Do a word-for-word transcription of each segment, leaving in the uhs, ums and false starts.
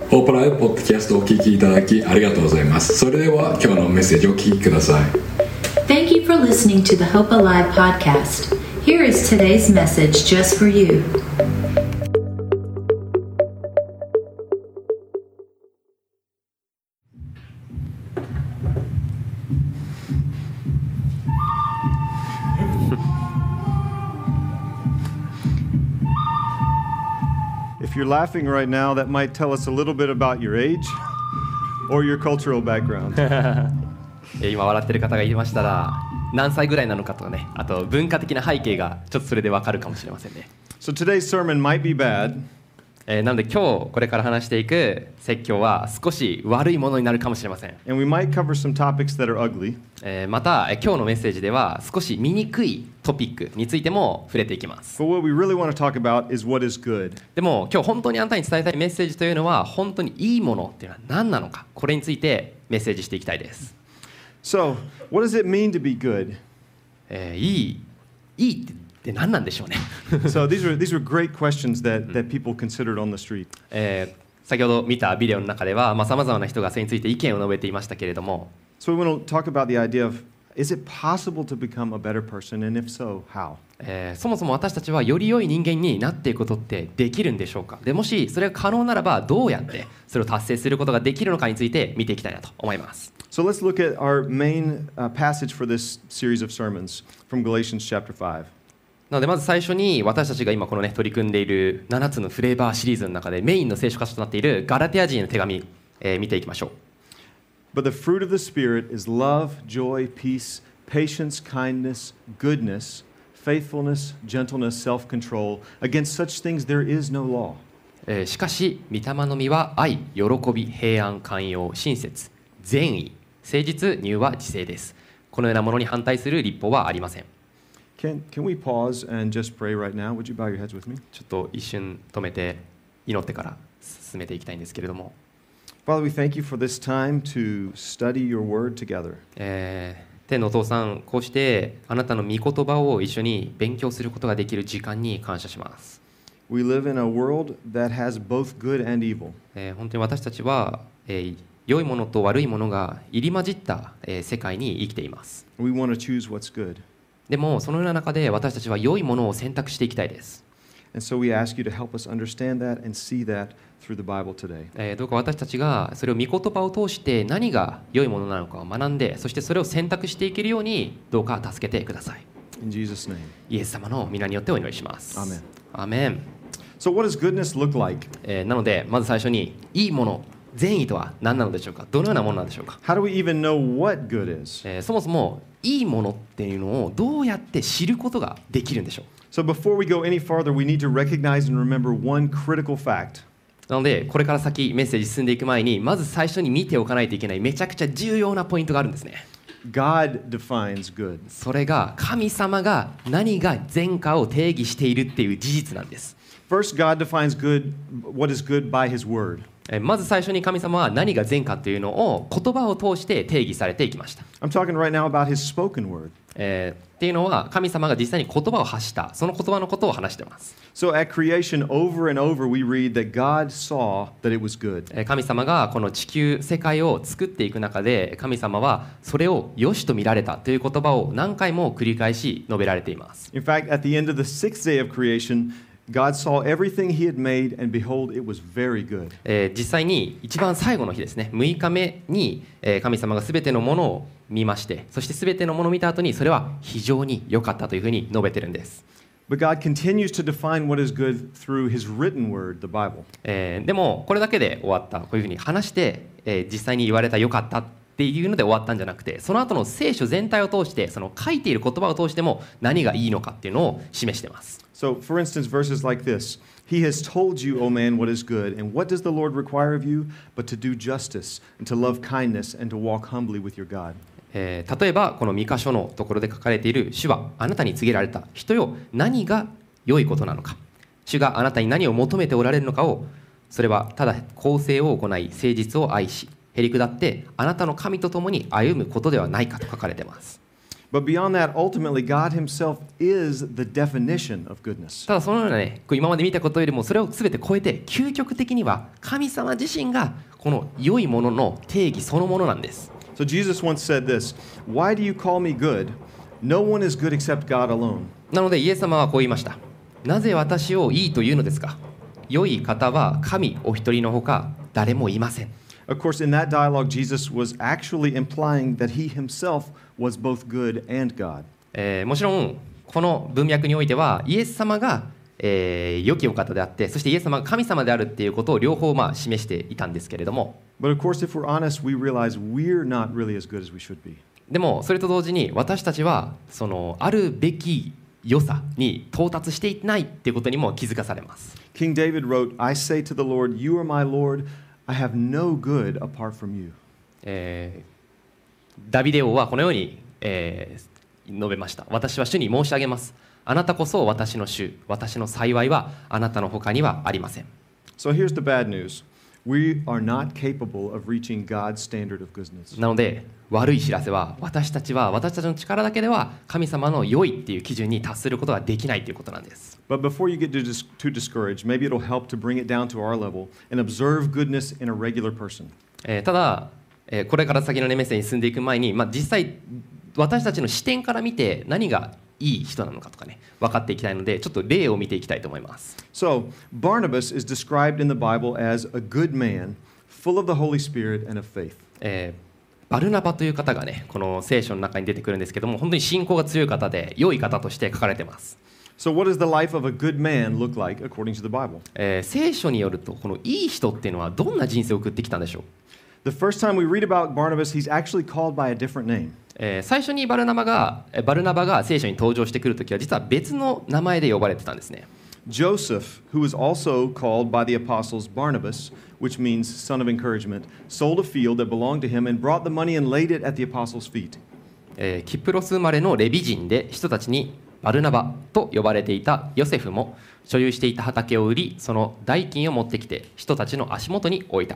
ホープライブポッドキャストをお聞きいただきありがとうございます。それでは今日のメッセージをお聞きください。 Thank you for listening to the Hope Alive podcast. Here is today's message just for you. If you're laughing right now, that might tell us a little bit about your age or your cultural background. 今笑ってる方がいましたら何歳ぐらいなのかとかね、あと文化的な背景がちょっとそれでわかるかもしれませんね。 So today's sermon might be bad, えーなので今日これから話していく説教は少し悪いものになるかもしれません。 and we might cover some topics that are ugly. えーまたえー今日のメッセージでは少し見にくいトピックについても触れていきます。 But what we really want to talk about is what is good. でも今日本当にあなたに伝えたいメッセージというのは本当にいいものっていうのは何なのか、これについてメッセージしていきたいです。 So, what does it mean to be good? えーいいいいって何なんでしょうね。 So these are these are great questions that, that people considered on the street. えー先ほど見たビデオの中ではさまざまな人がそれについて意見を述べていましたけれども、 So we want to talk about the idea of, is it possible to become a better person, and if so, how? えーそもそも私たちはより良い人間になっていくことってできるんでしょうか。でもしそれが可能ならばどうやってそれを達成することができるのかについて見ていきたいなと思います。 So let's look at our main uh, passage for this series of sermons from Galatians chapter five. なのでまず最初に私たちが今このね取り組んでいるななつのフレーバーシリーズの中でメインの聖書箇所となっているガラテヤ人への手紙、えー見ていきましょう。 But the fruit of the Spirit is love, joy, peace, patience, kindness, goodness, faithfulness, gentleness, self-control. Against such things there is no law. えーしかし御霊の実は愛、喜び、平安、寛容、親切、善意、誠実、柔和、自制です。このようなものに反対する律法はありません。 Can, can we pause and just pray right now? Would you bow your heads with me? ちょっと一瞬止めて祈ってから進めていきたいんですけれども、 Father, we thank you for this time to study your word together. えー天のお父さん、こうしてあなたの御言葉を一緒に勉強することができる時間に感謝します。 We live in a world that has both good and evil. えー本当に私たちは、えー良いものと悪いものが入り混じった、えー世界に生きています。 We want to choose what's good. でもそのような中で私たちは良いものを選択していきたいです。 And so we ask you to help us understand that and see that through the Bible today. えーどうか私たちがそれを御言葉を通して何が良いものなのかを学んで、そしてそれを選択していけるようにどうか助けてください。 In Jesus' name. イエス様の皆によってお祈りします。 アーメン。 アーメン。 So what does goodness look like? えーなのでまず最初にいいもの、善意とは何なのでしょうか。どのようなものなんでしょうか。 How do we even know what good is? えーそもそもいいものっていうのをどうやって知ることができるんでしょう。 So before we go any farther, we need to recognize and remember one critical fact. なのでこれから先メッセージ進んでいく前にまず最初に見ておかないといけないめちゃくちゃ重要なポイントがあるんですね。 God defines good. それが神様が何が善かを定義しているっていう事実なんです。 First, God defines good, what is good by His word. えーまず最初に神様は何が善かというのを言葉を通して定義されていきました。 I'm talking right now about His spoken word. えーっていうのは神様が実際に言葉を発したその言葉のことを話しています。 So at creation, over and over, we read that God saw that it was good. えー神様がこの地球世界を作っていく中で神様はそれを良しと見られたという言葉を何回も繰り返し述べられています。 In fact, at the end of the sixth day of creation, God saw everything He had made, and behold, it was very good. えー実際に一番最後の日ですね、むいかめに、えー神様がすべてのものを見まして、そしてすべてのものを見た後にそれは非常に良かったというふうに述べてるんです。 But God continues to define what is good through His written word, the Bible. えーでもこれだけで終わった、こういうふうに話して、えー実際に言われた良かったっていうので終わったんじゃなくて、その後の聖書全体を通してその書いている言葉を通しても何がいいのかっていうのを示しています。 So, for instance, verses like this: He has told you, O man, what is good, and what does the Lord require of you but to do justice and to love kindness and to walk humbly with your God. えー例えばこの三箇所のところで書かれている主はあなたに告げられた人よ、何が良いことなのか、主があなたに何を求めておられるのかを、それはただ公正を行い誠実を愛しへりくだってあなたの神と共に歩むことではないかと書かれています。 But beyond that, ultimately, God Himself is the definition of goodness. ただそのようなね、こう今まで見たことよりもそれを全て超えて、究極的には神様自身がこの良いものの定義そのものなんです。 So Jesus once said this, "Why do you call me good? No one is good except God alone." なのでイエス様はこう言いました。なぜ私をいいというのですか。良い方は神お一人のほか誰もいません。 Of course, in that dialogue, Jesus was actually implying that He Himself was both good and God. えー、もちろんこの文脈においてはイエス様が、えー、良きお方であって、そしてイエス様が神様であるっていうことを両方まあ示していたんですけれども、 But of course, if we're honest, we realize we're not really as good as we should be. でもそれと同時に私たちはそのあるべき良さに到達していないっていうことにも気づかされます。 King David wrote, "I say to the Lord, You are my Lord. I have no good apart from you." えー、ダビデ王はこのように、えー、述べました。私は主に申し上げます。あなたこそ私の主、私の幸いはあなたの他にはありません。 So here's the bad news. We are not capable of reaching God's standard of goodness. なので悪い知らせは、私たちは私たちの力だけでは神様の良いっていう基準に達することができないということなんです。 But before you get too, dis- too discouraged, maybe it'll help to bring it down to our level and observe goodness in a regular person. えー、ただ、えー、これから先の、ね、メッセージに進んでいく前に、まあ、実際私たちの視点から見て何がいい人なのかとかね、分かっていきたいので、ちょっと例を見ていきたいと思います。 So, Barnabas is described in the Bible as a good man, full of the Holy Spirit and of faith. えーバルナバという方がね、この聖書の中に出てくるんですけども、本当に信仰が強い方で良い方として書かれています。 So what does the life of a good man look like according to the Bible? えー、聖書によると、このいい人っていうのはどんな人生を送ってきたんでしょう。 The first time we read about Barnabas, he's actually called by a different name. えー、最初にバルナバがバルナバが聖書に登場してくるときは実は別の名前で呼ばれてたんですね。 Joseph, who was also called by the apostles Barnabas, which means son of encouragement, sold a field that belonged to him and brought the money and laid it at the apostles' feet. えー、キプロス生まれのレビ人で人たちにバルナバと呼ばれていたヨセフも所有していた畑を売り、その代金を持ってきて人たちの足元に置いた。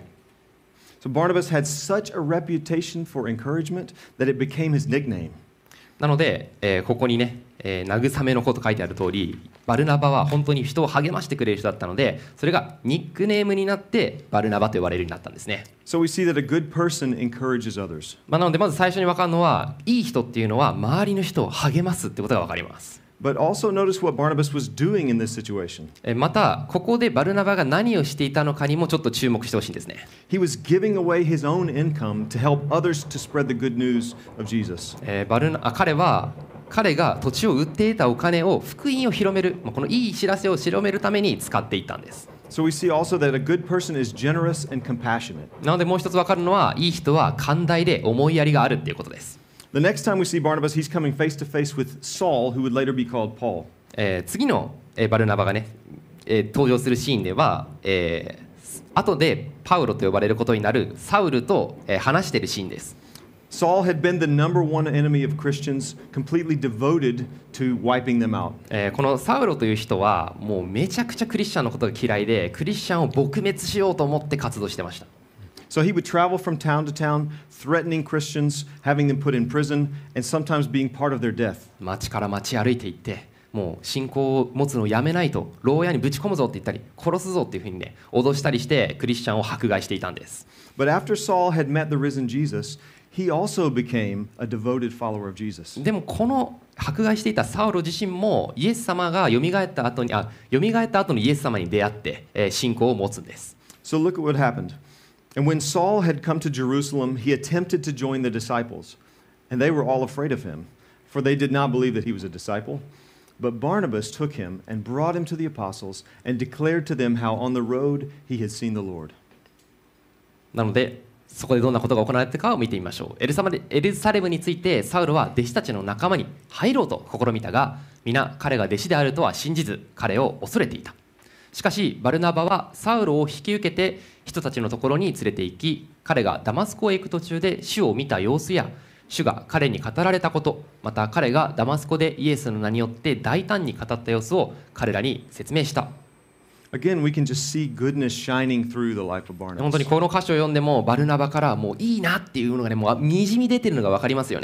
So Barnabas had such a reputation for encouragement that it became his nickname. なので、えー、ここにね、えー、慰めのこと書いてある通り、バルナバは本当に人を励ましてくれる人だったので、それがニックネームになってバルナバと呼ばれるようになったんですね。 So we see that a good person encourages others. まあ、なのでまず最初に分かるのは、いい人っていうのは周りの人を励ますってことが分かります。 But also notice what Barnabas was doing in this situation. またここでバルナバが何をしていたのかにもちょっと注目してほしいんですね。 He was giving away his own income to help others to spread the good news of Jesus. えー、バルナあ彼は彼が土地を売っていたお金を福音を広める、このいい知らせを広めるために使っていったんです。 So we see also that a good person is generous and compassionate. なのでもう一つ分かるのは、いい人は寛大で思いやりがあるっていうことです。 The next time we see Barnabas, he's coming face to face with Saul, who would later be called Paul. えー、次の、えー、バルナバがね、えー、登場するシーンでは、えー、後でパウロと呼ばれることになるサウルと、えー、話しているシーンです。 Saul had been the number one enemy of Christians, completely devoted to wiping them out. えー、このサウロという人はもうめちゃくちゃクリスチャンのことが嫌いで、クリスチャンを撲滅しようと思って活動してました。 So he would travel from town to town, threatening Christians, having them put in prison, and sometimes being part of their death. 町から町歩いていって、もう信仰を持つのをやめないと、牢屋にぶち込むぞって言ったり、殺すぞっていうふうにね、脅したりしてクリスチャンを迫害していたんです。 But after Saul had met the risen Jesus, he also became a devoted follower of Jesus. でもこの迫害していたサウロ自身もイエス様が蘇った後にあ蘇った後のイエス様に出会って、えー、信仰を持つんです。 So look at what happened. And when Saul had come to Jerusalem, he attempted to join the disciples, and they were all afraid of him, for they did not believe that he was a disciple. But Barnabas took him and brought him to the apostles and declared to them how on the road he had seen the Lord. なのでそこでどんなことが行われているかを見てみましょう。エルサレムエルサレムについてサウルは弟子たちの仲間に入ろうと試みたが、皆彼が弟子であるとは信じず彼を恐れていた。しかしバルナバはサウルを引き受けて人たちのところに連れて行き、彼がダマスコへ行く途中で主を見た様子や主が彼に語られたこと、また彼がダマスコでイエスの名によって大胆に語った様子を彼らに説明した。 Again, we can just see goodness shining through the life of Barnabas. 本当にこの箇所を読んでもバルナバからもういいなっていうのがね、もうにじみ出てるのが分かりますよね。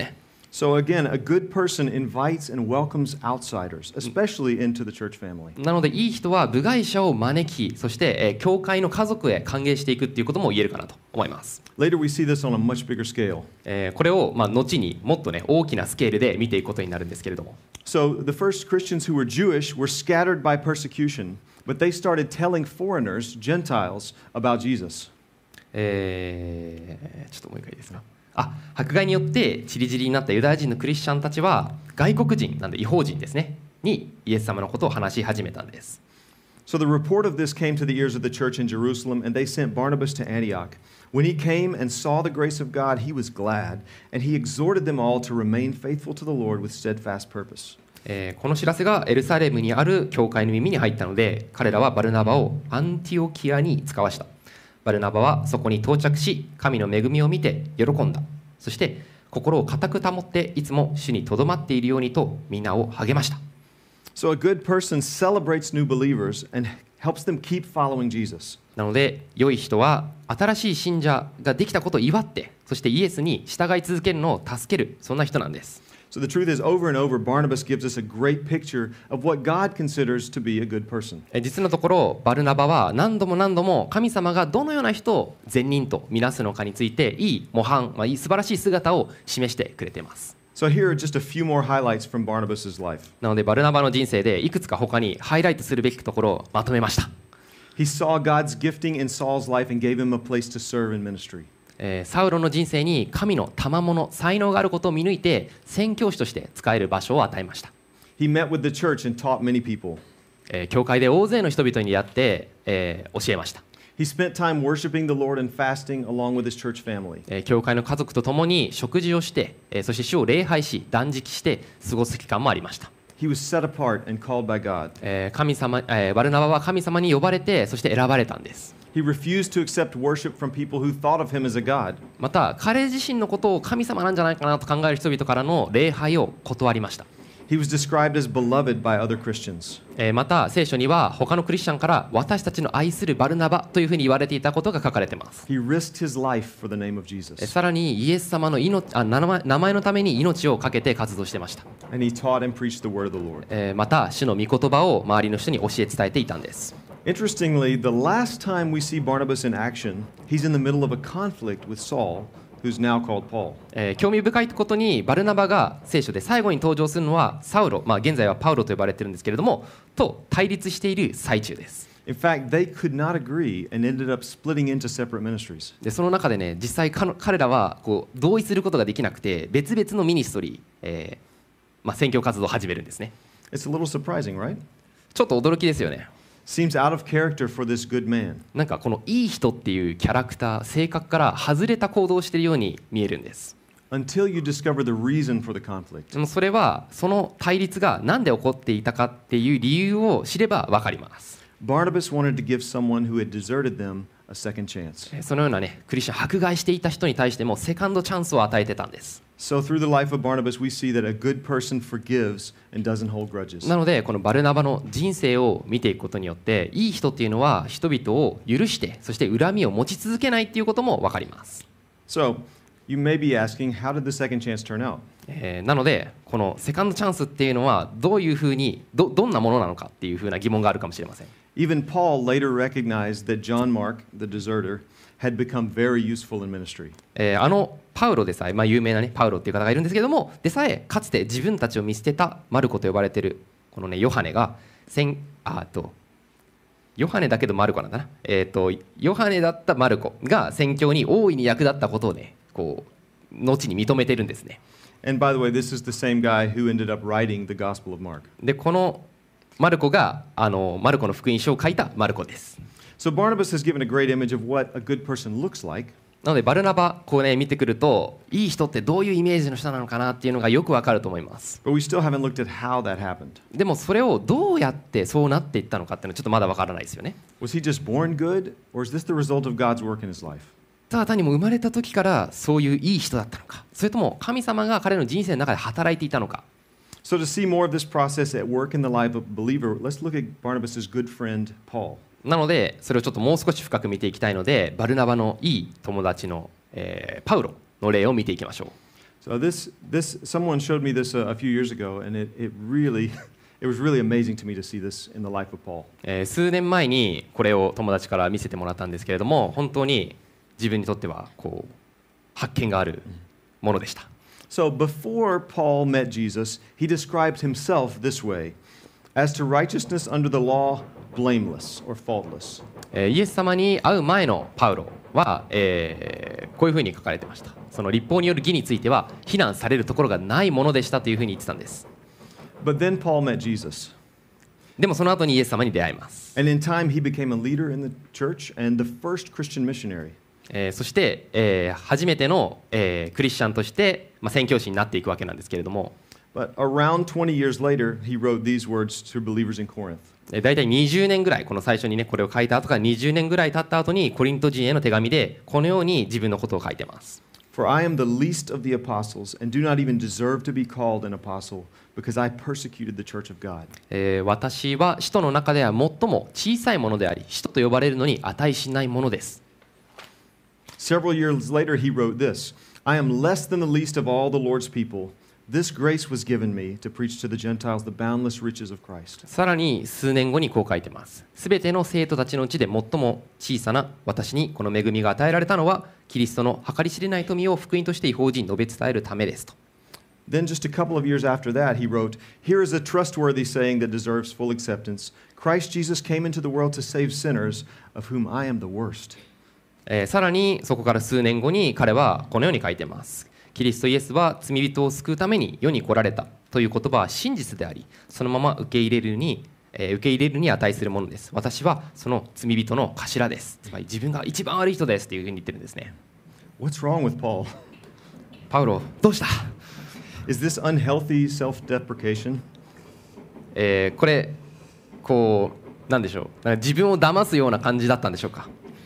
So again, a good person invites and welcomes outsiders, especially into the church family. なのでいい人は部外者を招き、そして、えー、教会の家族へ歓迎していくっていうことも言えるかなと思います。 Later we see this on a much bigger scale. えー、これを、まあ、後にもっとね大きなスケールで見ていくことになるんですけれども。 So the first Christians who were Jewish were scattered by persecution, but they started telling foreigners, Gentiles, about Jesus. えー、ちょっともう一回いいですか。あ、迫害によって散り散りになったユダヤ人のクリスチャンたちは外国人なんで異邦人ですねにイエス様のことを話し始めたんです。 So the report of this came to the ears of the church in Jerusalem, and they sent Barnabas to Antioch. When he came and saw the grace of God, he was glad, and he exhorted them all to remain faithful to the Lord with steadfast purpose. えー、この知らせがエルサレムにある教会の耳に入ったので、彼らはバルナバをアンティオキアに使わした。バルナバはそこに到着し、神の恵みを見て喜んだ。そして心を固く保っていつも主にとどまっているようにと皆を励ました。 So a good person celebrates new believers and helps them keep following Jesus. なので良い人は新しい信者ができたことを祝って、そしてイエスに従い続けるのを助ける、そんな人なんです。 So the truth is, over and over, Barnabas gives us a great picture of what God considers to be a good person. 実のところバルナバは何度も何度も神様がどのような人を善人とみなすのかについていい模範、まあ、いい素晴らしい姿を示してくれています。 So here are just a few more highlights from Barnabas' life. なのでバルナバの人生でいくつか他にハイライトするべきところをまとめました。 He saw God's gifting in Saul's life and gave him a place to serve in ministry. えー、サウロの人生に神の賜物才能があることを見抜いて宣教師として使える場所を与えました。 He met with the church and taught many people. えー、教会で大勢の人々に出会って、えー、教えました。 He spent time worshiping the Lord and fasting along with his church family. えー、教会の家族と共に食事をして、えー、そして主を礼拝し断食して過ごす期間もありました。 He was set apart and called by God. えー、神様、えー、バルナバは神様に呼ばれてそして選ばれたんです。 He refused to accept worship from people who thought of him as a god. また彼自身のことを神様なんじゃないかなと考える人々からの礼拝を断りました。 He was described as beloved by other Christians. えー、また聖書には他のクリスチャンから私たちの愛するバルナバというふうに言われていたことが書かれています。 He risked his life for the name of Jesus. さらにイエス様の命あ名前、名前のために命を懸けて活動していました。 And he taught and preached the word of the Lord. えー、また主の御言葉を周りの人に教え伝えていたんです。 Interestingly, the last time we see Barnabas in action, he's in the middle of a conflict with Saul, who's now called Paul. えー、興味深いことにバルナバが聖書で最後に登場するのはサウロ、まあ、現在はパウロと呼ばれているんですけれどもと対立している最中です。 In fact, they could not agree and ended up splitting into separate ministries. でその中でね実際彼らはこう同意することができなくて別々のミニストリー、えーまあ、宣教活動を始めるんですね。 It's a little surprising, right? ちょっと驚きですよね。 Seems out of character for this good man. なんかこのいい人っていうキャラクター性格から外れた行動をしているように見えるんです。 Until you discover the reason for the conflict. でもそれはその対立が何で起こっていたかっていう理由を知れば分かります。 Barnabas wanted to give someone who had deserted them a second chance. そのようなねクリスチャン迫害していた人に対してもセカンドチャンスを与えてたんです。 So through the life of Barnabas, we see that a good person forgives and doesn't hold grudges. なのでこのバルナバの人生を見ていくことによっていい人っていうのは人々を許してそして恨みを持ち続けないっていうことも分かります。 So you may be asking, how did the second chance turn out? えー、なのでこのセカンドチャンスっていうのはどういうふうに ど, どんなものなのかっていうふうな疑問があるかもしれません。 Even Paul later recognized that John Mark, the deserter, had become very useful in ministry. えー、あのパウロでさえ、まあ、有名な、ね、パウロっていう方がいるんですけどもでさえかつて自分たちを見捨てたマルコと呼ばれているこの、ね、ヨハネがせんあとヨハネだけどマルコなんだな、えー、とヨハネだったマルコが宣教に大いに役立ったことをねこう後に認めているんですね。 And by the way, this is the same guy who ended up writing the Gospel of Mark. でこのマルコがあのマルコの福音書を書いたマルコです。 So Barnabas has given a great image of what a good person looks like. なのでバルナバこうね見てくるといい人ってどういうイメージの人なのかなっていうのがよくわかると思います。 But we still haven't looked at how that happened. でもそれをどうやってそうなっていったのかっていうのはちょっとまだわからないですよね。 Was he just born good, or is this the result of God's work in his life? ただ単にもう生まれた時からそういういい人だったのか、それとも神様が彼の人生の中で働いていたのか。 So to see more of this process at work in the life of a believer, let's look at Barnabas' good friend, Paul. なのでそれをちょっともう少し深く見ていきたいのでバルナバのいい友達の、えー、パウロの例を見ていきましょう。 So this, this, someone showed me this a, a few years ago, and it, it really, it was really amazing to me to see this in the life of Paul. えー数年前にこれを友達から見せてもらったんですけれども、本当に自分にとってはこう発見があるものでした。 So before Paul met Jesus, he described himself this way: as to righteousness under the law, blameless or faultless. えーイエス様に会う前のパウロは、えーこういうふうに書かれてました。その立法による義については非難されるところがないものでしたというふうに言ってたんです。 But then Paul met Jesus. でもその後にイエス様に出会います。 And in time, he became a leader in the church and the first Christian missionary. えーそして、えー初めての、えークリスチャンとして、まあ、宣教師になっていくわけなんですけれども、 But around twenty years later, he wrote these words to believers in Corinth. えー大体にじゅうねんぐらい、この最初にねこれを書いた後からにじゅうねんぐらい経った後にコリント人への手紙でこのように自分のことを書いてます。 For I am the least of the apostles and do not even deserve to be called an apostle because I persecuted the church of God. えー私は使徒の中では最も小さいものであり、使徒と呼ばれるのに値しないものです。 Several years later, he wrote this: I am less than the least of all the Lord's people. This grace was given me to preach to the Gentiles the boundless riches of Christ. さらに数年後にこう書いてます。すべての生徒たちのうちで最も小さな私にこの恵みが与えられたのは、キリストの計り知れない富を福音として異邦人に述べ伝えるためですと。 Then, just a couple of years after that, he wrote, Here is a trustworthy saying that deserves full acceptance. Christ Jesus came into the world to save sinners, of whom I am the worst. えーさらにそこから数年後に彼はこのように書いてます。キリストイエスは罪人を救うために世に来られたという言葉は真実であり、そのまま受け入れるに、えー受け入れるに値するものです。私はその罪人の頭です。つまり自分が一番悪い人ですというふうに言ってるんですね。 What's wrong with Paul? パウロ、どうした？ Is this unhealthy self-deprecation? えーこれこうなんでしょう、なんか自分を騙すような感じだったんでしょうか。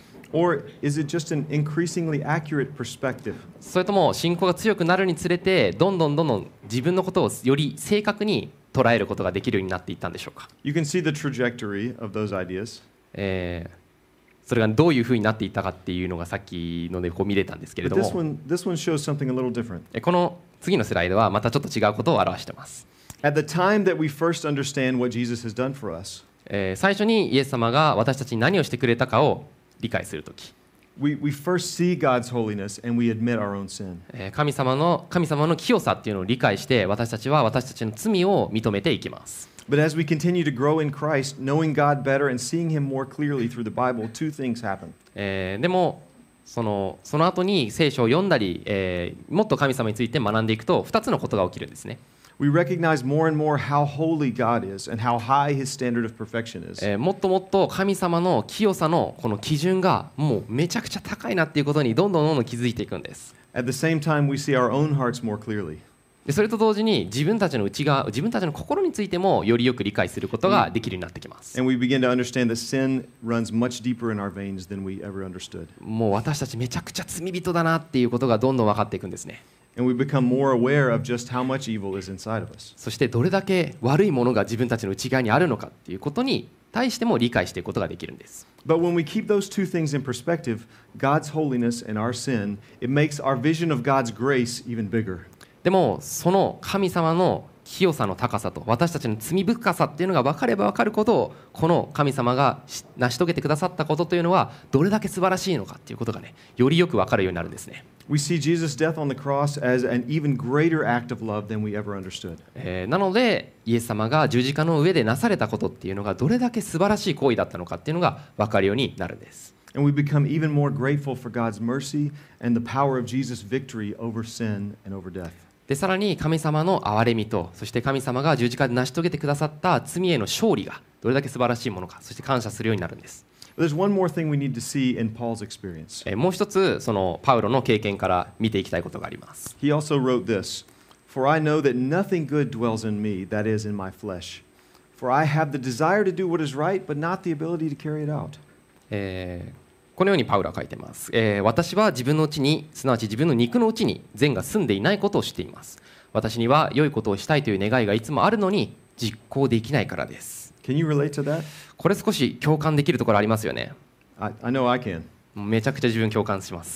Or is it just an increasingly accurate perspective? それとも信仰が強くなるにつれてどんどんどんどん自分のことをより正確に捉えることができるようになっていったんでしょうか。 You can see the trajectory of those ideas. えーそれがどういうふうになっていったかっていうのがさっきのでこう見れたんですけれ But ど this も、 one, this one shows something a little different. えこの次のスライドはまたちょっと違うことを表しています。 At the time that we first understand what Jesus has done for us, えー最初にイエス様が私たちに何をしてくれたかを理解するとき、 we, we first see God's holiness and we admit our own sin. えー神様の神様の清さっていうのを理解して私たちは私たちの罪を認めていきます。 But as we continue to grow in Christ, knowing God better and seeing Him more clearly through the Bible, two things happen. えーでもそのその後に聖書を読んだり、えーもっと神様について学んでいくとふたつのことが起きるんですね。 We recognize more and more how holy God is and how high His standard of perfection is. えーもっともっと神様の清さのこの基準がもうめちゃくちゃ高いなっていうことにどんどんどんどん気づいていくんです。 At the same time, we see our own hearts more clearly. でそれと同時に自分たちの内側、自分たちの心についてもよりよく理解することができるようになってきます。 And we begin to understand that sin runs much deeper in our veins than we ever understood. もう私たちめちゃくちゃ罪人だなっていうことがどんどん分かっていくんですね。 And we become more aware of just how much evil is inside of us. そしてどれだけ悪いものが自分たちの内側にあるのかっていうことに対しても理解していくことができるんです。 But when we keep those two things in perspective, God's holiness and our sin, it makes our vision of God's grace even bigger. でもその神様の清さの高さと私たちの罪深さっていうのが分かれば分かることをこの神様が成し遂げてくださったことというのはどれだけ素晴らしいのかっていうことがねよりよく分かるようになるんですね。 We see Jesus' death on the cross as an even greater act of love than we ever understood. えーなのでイエス様が十字架の上でなされたことっていうのがどれだけ素晴らしい行為だったのかっていうのが分かるようになるんです。 And we become even more grateful for God's mercy and the power of Jesus' victory over sin and over death. でさらに神様の憐れみとそして神様が十字架で成し遂げてくださった罪への勝利がどれだけ素晴らしいものかそして感謝するようになるんです。 But there's one more thing we need to see in Paul's experience. えーもう一つそのパウロの経験から見ていきたいことがあります。 He also wrote this, For I know that nothing good dwells in me, that is, in my flesh. For I have the desire to do what is right, but not the ability to carry it out. えーこのようにパウロは書いています、えー私は自分のうちにすなわち自分の肉のうちに善が住んでいないことを知っています。私には良いことをしたいという願いがいつもあるのに実行できないからです。 Can you relate to that? これ少し共感できるところありますよね。 I, I know I can. もうめちゃくちゃ自分共感します。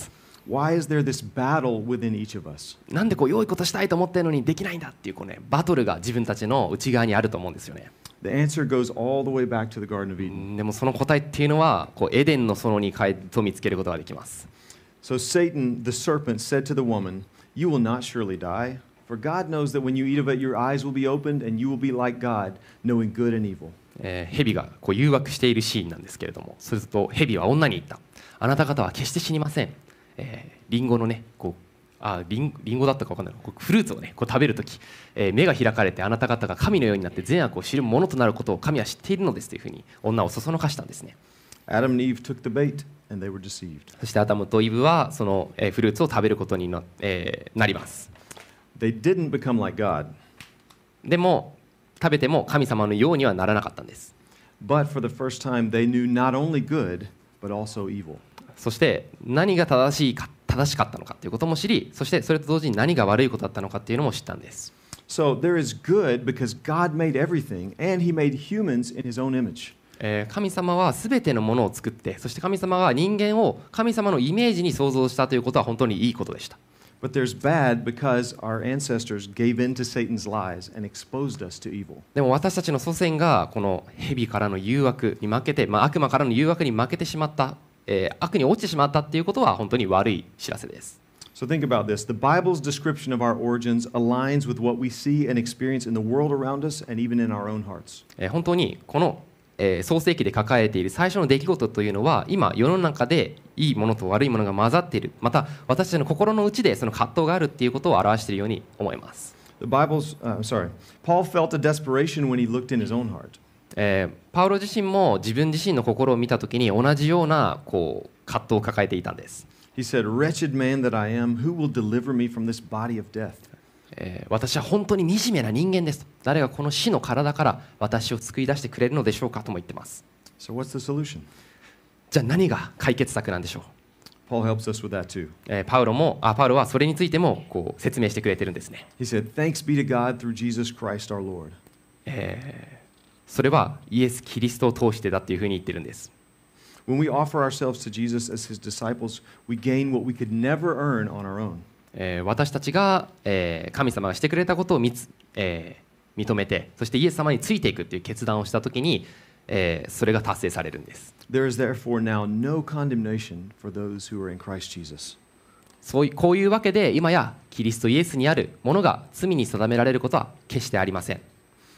Why is there this battle within each of us? なんでこう良いことしたいと思ってるのにできないんだっていうこう、ね、バトルが自分たちの内側にあると思うんですよね。 The answer goes all the way back to the Garden of Eden. でもその答えっていうのはこうエデンの園に帰と見つけることができます。 So Satan, the serpent, said to the woman, "You will not surely die, for God knows that when you eat of it, your eyes will be opened, and you will be like God, knowing good and evil." えー、蛇がこう誘惑しているシーンなんですけれども、すると蛇は女に言った。あなた方は決して死にません。えー、リンゴのね、こうあリン、リンゴだったか分かんないこうフルーツをねこう食べるとき、えー、目が開かれてあなた方が神のようになって善悪を知るものとなることを神は知っているのですというふうに女をそそのかしたんですね。 Adam and Eve took the bait, and they were deceived. そしてアダムとイブはその、えー、フルーツを食べることに な,、えー、なります。 They didn't become like God. でも食べても神様のようにはならなかったんです。 But for the first time, they knew not only good, but also evil. そして何が正しいか正しかったのかということも知り、そしてそれと同時に何が悪いことだったのかというのも知ったんです。 So there is good because God made everything, and He made humans in His own image. えー、神様はすべてのものを作って、そして神様は人間を神様のイメージに創造したということは本当にいいことでした。 But there's bad because our ancestors gave in to Satan's lies and exposed us to evil. でも私たちの祖先がこの蛇からの誘惑に負けて、まあ、悪魔からの誘惑に負けてしまった、えー、悪に落ちてしまったっていうことは本当に悪い知らせです。 So think about this. The Bible's description of our origins aligns with what we see and experience in the world around us and even in our own hearts. えー、本当にこの、えー、創世記で書かれている最初の出来事というのは今世の中でいいものと悪いものが混ざっている、また私たちの心の内でその葛藤があるっていうことを表しているように思います。 The Bible's, uh, sorry, Paul felt a desperation when he looked in his own heart. えー、パウロ自身も自分自身の心を見たときに同じようなこう葛藤を抱えていたんです。 He said, "Wretched man that I am, who will deliver me from this body of death?" えー、私は本当に惨めな人間ですと。誰がこの死の体から私を救い出してくれるのでしょうかとも言ってます。 So what's the solution? じゃあ何が解決策なんでしょう。 Paul helps us with that too. えー、パウロもあパウロはそれについてもこう説明してくれてるんですね。 He said, "Thanks be to God through Jesus Christ our Lord." えー、それはイエス・キリストを通してだっていうふうに言ってるんです。 When we offer ourselves to Jesus as His disciples, we gain what we could never earn on our own. えー、私たちが、えー、神様がしてくれたことを見つ、えー、認めて、そしてイエス様についていくという決断をしたときに、えー、それが達成されるんです。 There is therefore now no condemnation for those who are in Christ Jesus. そういうこういうわけで今やキリストイエスにあるものが罪に定められることは決してありません。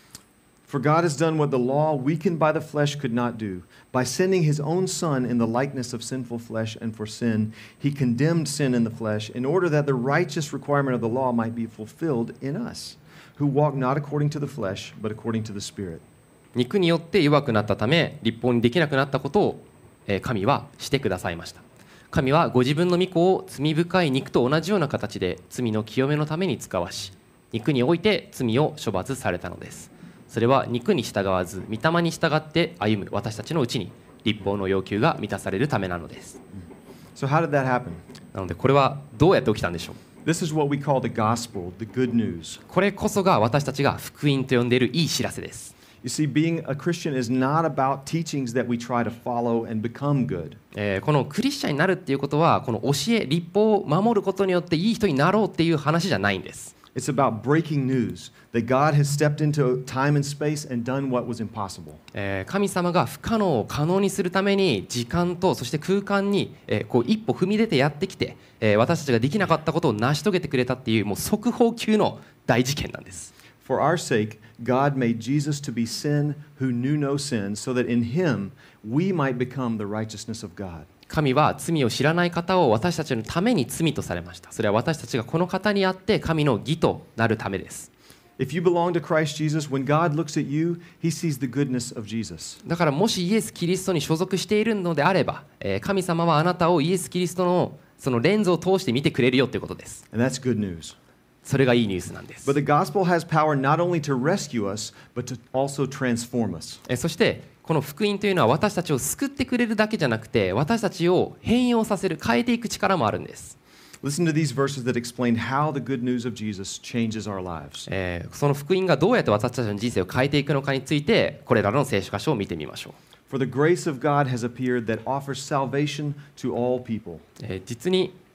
For God has done what the law, weakened by the flesh, could not do. By sending His own Son in the likeness of sinful flesh and for sin, He condemned sin in the flesh in order that the righteous requirement of the law might be fulfilled in us, who walk not according to the flesh, but according to the Spirit. 肉によって弱くなったため立法にできなくなったことを、えー、神はしてくださいました。神はご自分の御子を罪深い肉と同じような形で罪の清めのために使わし、肉において罪を処罰されたのです。それは肉に従わず御霊に従って歩む私たちのうちに律法の要求が満たされるためなのです。 So how did that happen? なのでこれはどうやって起きたんでしょう。 This is what we call the gospel, the good news. これこそが私たちが福音と呼んでいるいい知らせです。 You see, being a Christian is not about teachings that we try to follow and become good. えー、このクリスチャンになるっていうことはこの教え、律法を守ることによっていい人になろうっていう話じゃないんです。 It's about breaking news that God has stepped into time and space and done what was impossible. えー、神様が不可能を可能にするために時間とそして空間に、えー、こう一歩踏み出てやってきて、えー、私たちができなかったことを成し遂げてくれたっていうもう速報級の大事件なんです。 For our sake, God made Jesus to be sin who knew no sin, so that in Him we might become the righteousness of God. 神は罪を知らない方を私たちのために罪とされました。それは私たちがこの方にあって神の義となるためです。 If you belong to Christ Jesus, when God looks at you, He sees the goodness of Jesus. だからもしイエス・キリストに所属しているのであれば、えー、神様はあなたをイエス・キリストのそのレンズを通して見てくれるよということです。 And that's good news. それがいいニュースなんです。 But the gospel has power not only to rescue us, but to also transform us. えー、そしてこの福音というのは私たちを救ってくれるだけじゃなくて私たちを変容させる、変えていく力もあるんです。 Listen to these verses that explain how the good news of Jesus changes our lives. えー、その福音がどうやって私たちの人生を変えていくのかについてこれらの聖書箇所を見てみましょう。 For the grace of God has appeared that offers salvation to all people. えー、実に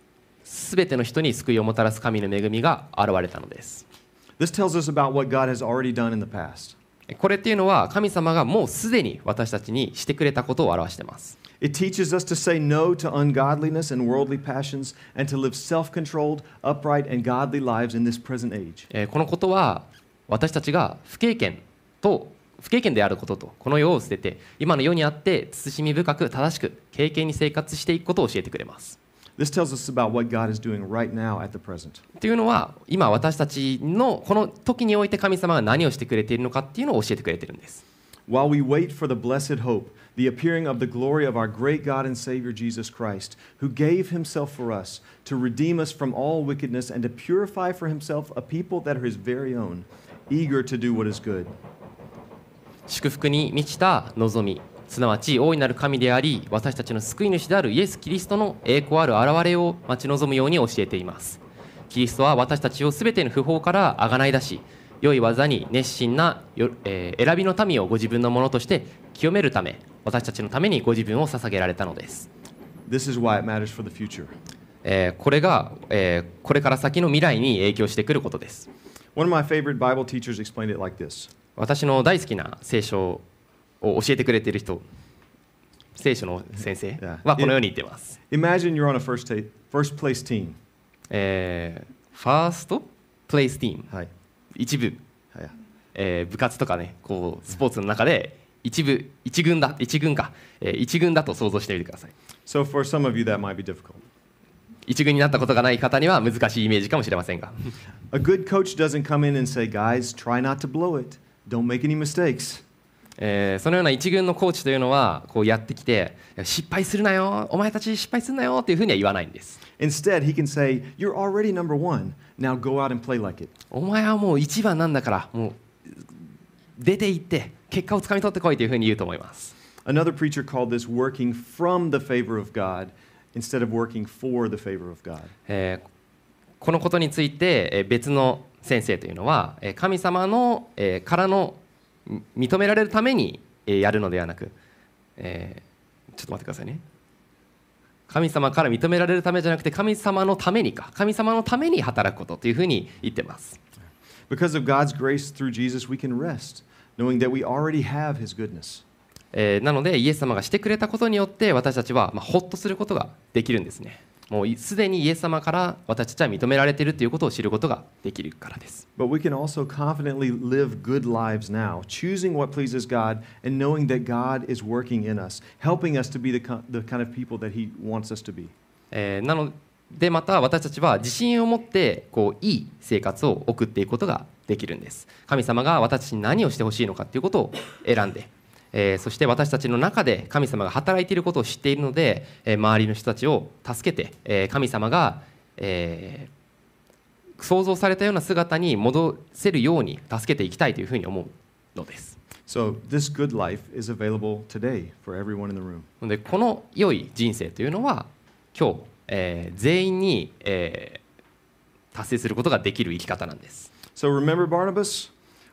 すべての人に救いをもたらす神の恵みが現れたのです。 This tells us about what God has already done in the past. これっていうのは神様がもうすでに私たちにしてくれたことを表しています。 It teaches us to say no to ungodliness and worldly passions and to live self-controlled, upright, and godly lives in this present age. えーこのことは私たちが不経験と不経験であることとこの世を捨てて今の世にあって慎み深く正しく経験に生活していくことを教えてくれます。 This tells us about what God is doing right now at the present. というのは今私たちのこの時において神様が何をしてくれているのかっていうのを教えてくれているんです。 While we wait for the blessed hope, the appearing of the glory of our great God and Savior Jesus Christ, who gave himself for us to redeem us from all wickedness and to purify for himself a people that are his very own, eager to do what is good. 祝福に満ちた望み、すなわち大いなる神であり私たちの救い主であるイエス・キリストの栄光ある現れを待ち望むように教えています。キリストは私たちをすべての不法からあがない出し、良い技に熱心な、えー、選びの民をご自分のものとして清めるため、私たちのためにご自分を捧げられたのです。 This is why it matters for the future. えー、これが、えー、これから先の未来に影響してくることです。 One of my favorite Bible teachers explained it like this. 私の大好きな聖書を教えてくれている人、聖書の先生はこのように言っています。 Imagine you're on a first, ta- first place team. えー、ファーストプレイスティーム、 はい、 一部、 はいえー、部活とかね、こうスポーツの中で一部、一軍だ、一軍か、えー、一軍だと想像してみてください。 So for some of you that might be difficult. 一軍になったことがない方には難しいイメージかもしれませんが。 A good coach doesn't come in and say, guys, try not to blow it. Don't make any mistakes. えー、そのような一軍のコーチというのはこうやってきて失敗するなよ、お前たち失敗するなよっていうふうには言わないんです。 Instead, he can say, you're already number one. Now go out and play like it. お前はもう一番なんだからもう出て行って結果をつかみ取ってこいというふうに言うと思います。 Another preacher called this working from the favor of God instead of working for the favor of God. えー、このことについて別の先生というのは神様のからの認められるためにやるのではなく、えー、ちょっと待ってくださいね。神様から認められるためじゃなくて神様のためにか神様のために働くことというふうに言ってます。 Because of God's grace through Jesus, we can rest, knowing that we already have His goodness. えー、なのでイエス様がしてくれたことによって私たちは、まあ、ほっとすることができるんですね。もうすでにイエス様から私たちは認められているということを知ることができるからです。 But we can also confidently live good lives now, choosing what pleases God and knowing that God is working in us, helping us to be the, the kind of people that He wants us to be. えー、なのでまた私たちは自信を持ってこういい生活を送っていくことができるんです。神様が私たちに何をしてほしいのかということを選んで、えー、そして私たちの中で神様が働いていることを知っているので、えー、周りの人たちを助けて、えー、神様が、えー、想像されたような姿に戻せるように助けていきたいというふうに思うのです。 So this good life is available today for everyone in the room. でこの良い人生というのは今日、えー、全員に、えー、達成することができる生き方なんです。 So remember Barnabas?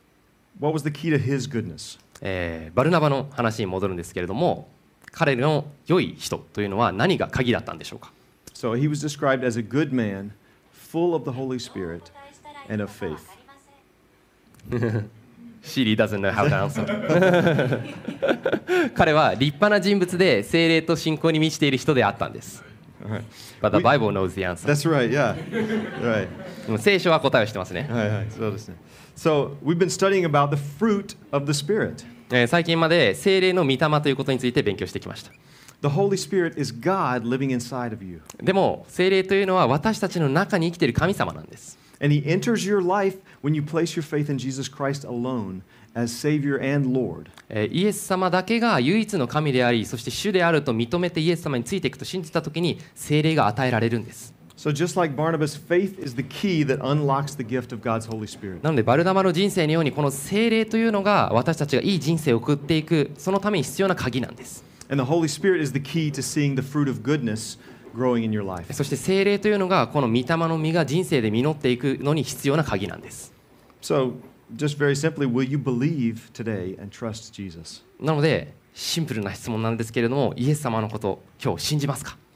What was the key to his goodness? えー、バルナバの話に戻るんですけれども、彼の良い人というのは何が鍵だったんでしょうか。 So he was described as a good man, full of the Holy Spirit and of faith. Shiri doesn't know how to answer. 彼は立派な人物で聖霊と信仰に満ちている人であったんです。 Alright. But the Bible knows the answer. That's right, yeah. Right. 聖書は答えをしてますね。 はいはい、そうですね。So we've been studying about the fruit of the Spirit. えー、最近まで聖霊の御霊ということについて勉強してきました。 The Holy Spirit is God living inside of you. でも聖霊というのは私たちの中に生きている神様なんです。 And He enters your life when you place your faith in Jesus Christ alone as Savior and Lord. えー、イエス様だけが唯一の神であり、そして主であると認めてイエス様についていくと信じたときに聖霊が与えられるんです。 So just like Barnabas, faith is the key that unlocks the gift of God's Holy Spirit. なのでバルナバの人生のようにこの聖霊というのが私たちがいい人生を送っていくそのために必要な鍵なんです。 And the Holy Spirit is the key to seeing the fruit of goodness growing in your life. そして聖霊というのがこの御霊の実が人生で実っていくのに必要な鍵なんです。 So just very simply, will you believe today and trust Jesus? なのでシンプルな質問なんですけれども、イエス様のこと今日信じますか？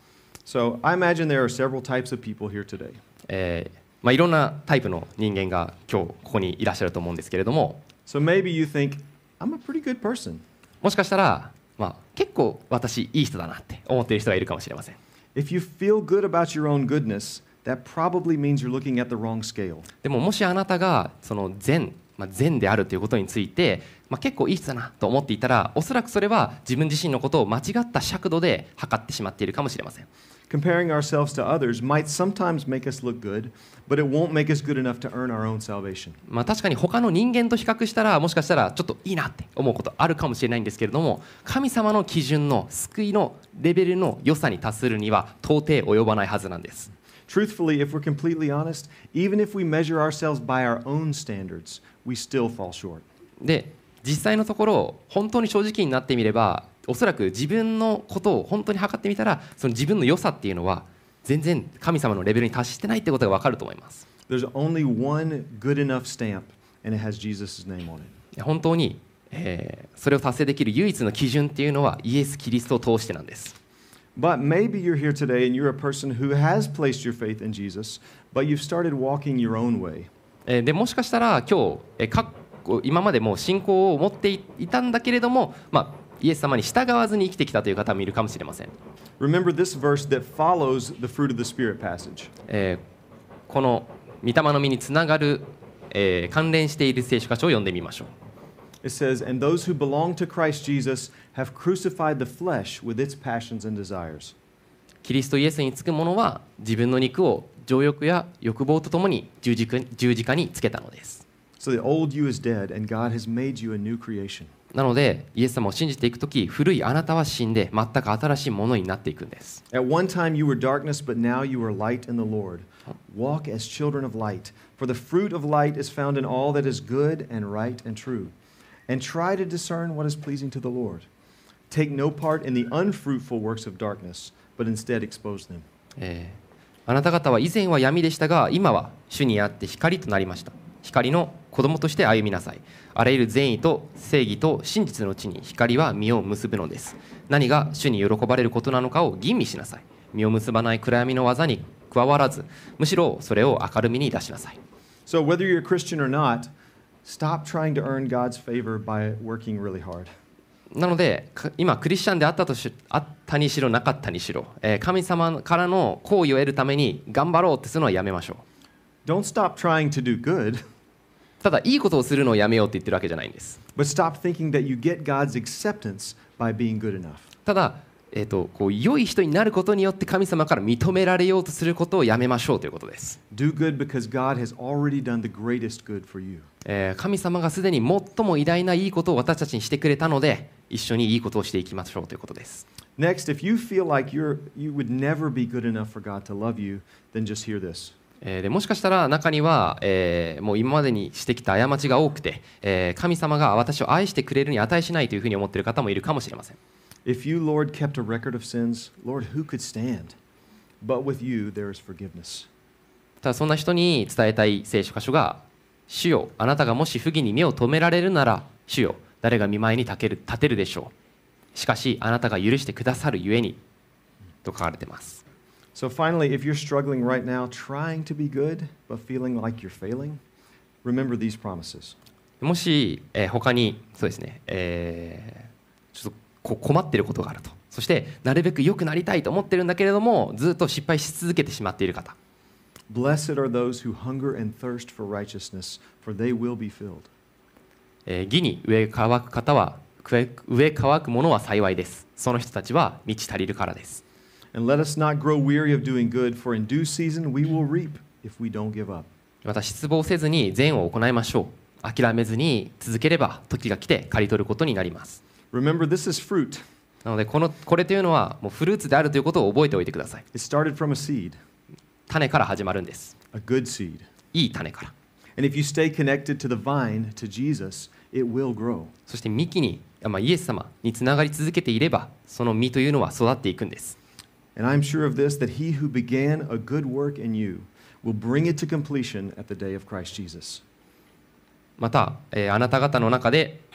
So I imagine there are several types of people here today. えーまあ、いろんなタイプの人間が今日ここにいらっしゃると思うんですけれども、 So maybe you think, I'm a pretty good person. もしかしたら、まあ、結構私いい人だなって思っている人がいるかもしれません。 If you feel good about your own goodness, that probably means you're looking at the wrong scale. でももしあなたがその善、まあ、善であるということについて、まあ、結構いい人だなと思っていたら、おそらくそれは自分自身のことを間違った尺度で測ってしまっているかもしれません。 Comparing ourselves to others might sometimes make us look good, but it won't make us good enough to earn our own salvation. まあ、確かに他の人間と比較したら、もしかしたらちょっといいなって思うことあるかもしれないんですけれども、神様の基準の救いのレベルの良さに達するには到底及ばないはずなんです。 Truthfully, if we're completely honest, even if we measure ourselves by our own standards, we still fall short. で、実際のところ本当に正直になってみれば、おそらく自分のことを本当に測ってみたら、その自分の良さっていうのは全然神様のレベルに達してないってことが分かると思います。 There's only one good enough stamp, and it has Jesus' name on it. 本当に、えーそれを達成できる唯一の基準っていうのはイエス・キリストを通してなんです。 But maybe you're here today and you're a person who has placed your faith in Jesus, but you've started walking your own way. えーでもしかしたら今日、えーか今までも信仰を持っていたんだけれども、まあ、イエス様に従わずに生きてきたという方もいるかもしれません。 Remember this verse that follows the fruit of the Spirit passage. えーこの御霊の実につながる、えー関連している聖書箇所を読んでみましょう。 It says, And those who belong to Christ Jesus have crucified the flesh with its passions and desires. キリストイエスにつく者は自分の肉を情欲や欲望とともに十字架十字架につけたのです。 So the old you is dead, and God has made you a new creation. なのでイエス様を信じていくとき、古いあなたは死んで全く新しいものになっていくんです。 At one time you were darkness, but now you are light in the Lord. Walk as children of light, for the fruit of light is found in all that is good and right and true. And try to discern what is pleasing to the Lord. Take no part in the unfruitful works of darkness, but instead expose them. えーあなた方は以前は闇でしたが、今は主にあって光となりました。光の子供として歩みなさい。あらゆる善意と正義と真実のうちに光は実を結ぶのです。何が主に喜ばれることなのかを吟味しなさい。実を結ばない暗闇の技に加わらず、むしろそれを明るみに出しなさい。 So whether you're a Christian or not, stop trying to earn God's favor by working really hard. なのでか今クリスチャンであったとしあったにしろなかったにしろ、えー神様からの好意を得るために頑張ろうってするのはやめましょう。 Don't stop trying to do good, ただいいことをするのをやめようって言ってるわけじゃないんです。 but stop thinking that you get God's acceptance by being good enough. ただ、えー、とこう良い人になることによって神様から認められようとすることをやめましょうということです。 Do good because God has already done the greatest good for you. えー神様がすでに最も偉大ないいことを私たちにしてくれたので、一緒にいいことをしていきましょうということです。 Next, if you feel like you're, you would never be good enough for God to love you, then just hear this. えーでもしかしたら中には、えーもう今までにしてきた過ちが多くて、えー神様が私を愛してくれるに値しないというふうに思っている方もいるかもしれません。 If you, Lord, kept a record of sins, Lord, who could stand? But with you, there is forgiveness. ただそんな人に伝えたい聖書箇所が、主よ、あなたがもし不義に目を留められるなら、主よ、誰が見舞いに立てる、立てるでしょう。しかし、あなたが許してくださるゆえに、と書かれています。 So finally, if you're struggling right now, trying to be good, but feeling like you're failing, remember these promises. もし、えー他に、そうですね、えーちょっとこ困っていることがあると。そして、なるべく良くなりたいと思ってるんだけれども、ずっと失敗し続けてしまっている方。 Blessed are those who hunger and thirst for righteousness, for they will be filled. えー義に植え乾く方は、植え植え乾くものは幸いです。その人たちは満ち足りるからです。 And let us not grow weary of doing good, for in due season we will reap if we don't give up. また失望せずに善を行いましょう。諦めずに続ければ時が来て刈り取ることになります。 Remember, this is fruit. なのでこのこれというのはもうフルーツであるということを覚えておいてください。 It started from a seed, 種から始まるんです。 a good seed. いい種から。 And if you stay connected to the vine, to Jesus, it will grow. そして幹に、まあ、イエス様につながり続けていれば、その実というのは育っていくんです。 And I'm sure of this, that he who began a good work in you will bring it to completion at the day of Christ Jesus. また、えーあなた方の中で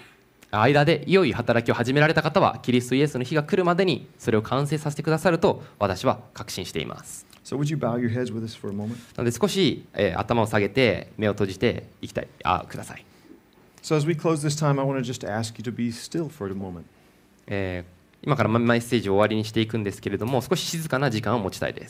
間で良い働きを始められた方はキリストイエスの日が来るまでにそれを完成させてくださると私は確信しています。 So would you bow your heads with us for a moment? なので少し、えー、頭を下げて目を閉じていきたいあください。 So as we close this time, I want to just ask you to be still for a moment. えー、今からメッセージを終わりにしていくんですけれども、少し静かな時間を持ちたいです。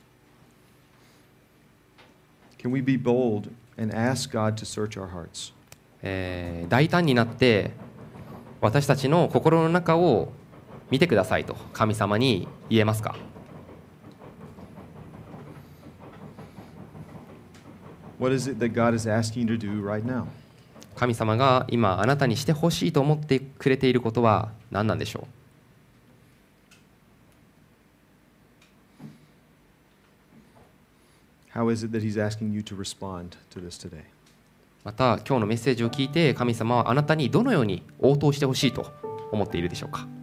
Can we be bold and ask God to search our hearts? えー、大胆になって私たちの心の中を見てくださいと神様に言えますか？ What is it that God is asking you to do right now? 神様が今あなたにしてほしいと思ってくれていることは何なんでしょう？ How is it that He's asking you to respond to this today? また今日のメッセージを聞いて神様はあなたにどのように応答してほしいと思っているでしょうか？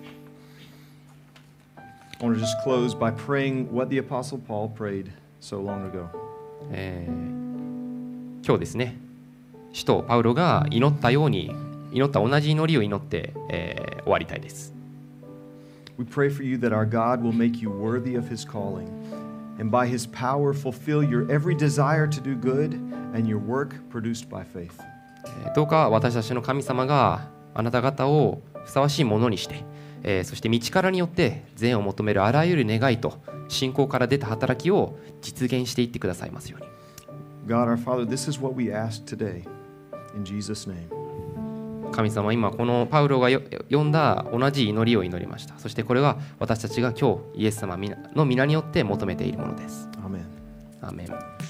I want to just close by praying what the Apostle Paul prayed so long ago. えー、今日ですね、使徒パウロが祈ったように祈った同じ祈りを祈って、えー、終わりたいです。 We pray for you that our God will make you worthy of His calling, and by His power fulfill your every desire to do good and your work produced by faith. どうか私たちの神様があなた方をふさわしいものにして、えー、そして道からによって善を求めるあらゆる願いと信仰から出た働きを実現していってくださいますように。 God our Father, this is what we ask today in Jesus' name. 神様、今このパウロが読んだ同じ祈りを祈りました。そしてこれは私たちが今日イエス様の皆によって求めているものです。 アーメン。 アーメン。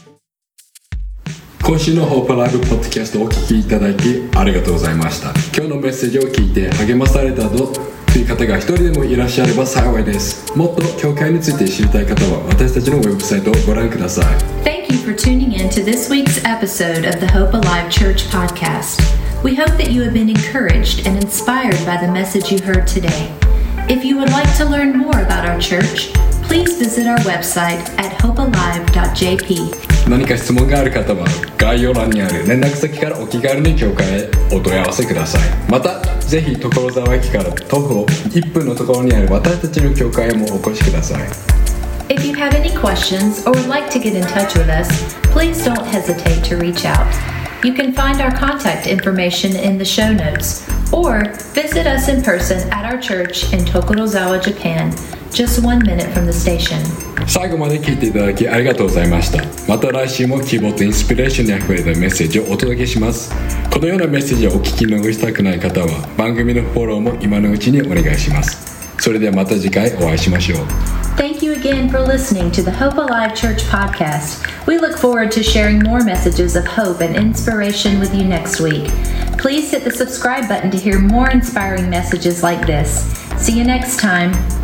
今週のホープライブポッドキャストをお聞きいただきありがとうございました。今日のメッセージを聞いて励まされたとという方が一人でもいらっしゃれば幸いです。もっと教会について知りたい方は私たちのウェブサイトをご覧ください。 Thank you for tuning in to this week's episode of the Hope Alive Church podcast. We hope that you have been encouraged and inspired by the message you heard today. If you would like to learn more about our church, please visit our website at hope alive dot j p. 何か質問がある方は概要欄にある連絡先からお気軽に教会へお問い合わせください。またぜひ所沢駅から徒歩いっぷんのところにある私たちの教会へもお越しください。 If you have any questions or would like to get in touch with us, please don't hesitate to reach out. You can find our contact information in the show notes or visit us in person at our church in Tokorozawa, Japan, just one minute from the station. 最後まで聞いていただきありがとうございました。また来週も希望とインスピレーションにあふれたメッセージをお届けします。このようなメッセージをお聞き逃したくない方は番組のフォローも今のうちにお願いします。それではまた次回お会いしましょう。 Thank you again for listening to the Hope Alive Church podcast. We look forward to sharing more messages of hope and inspiration with you next week. Please hit the subscribe button to hear more inspiring messages like this. See you next time.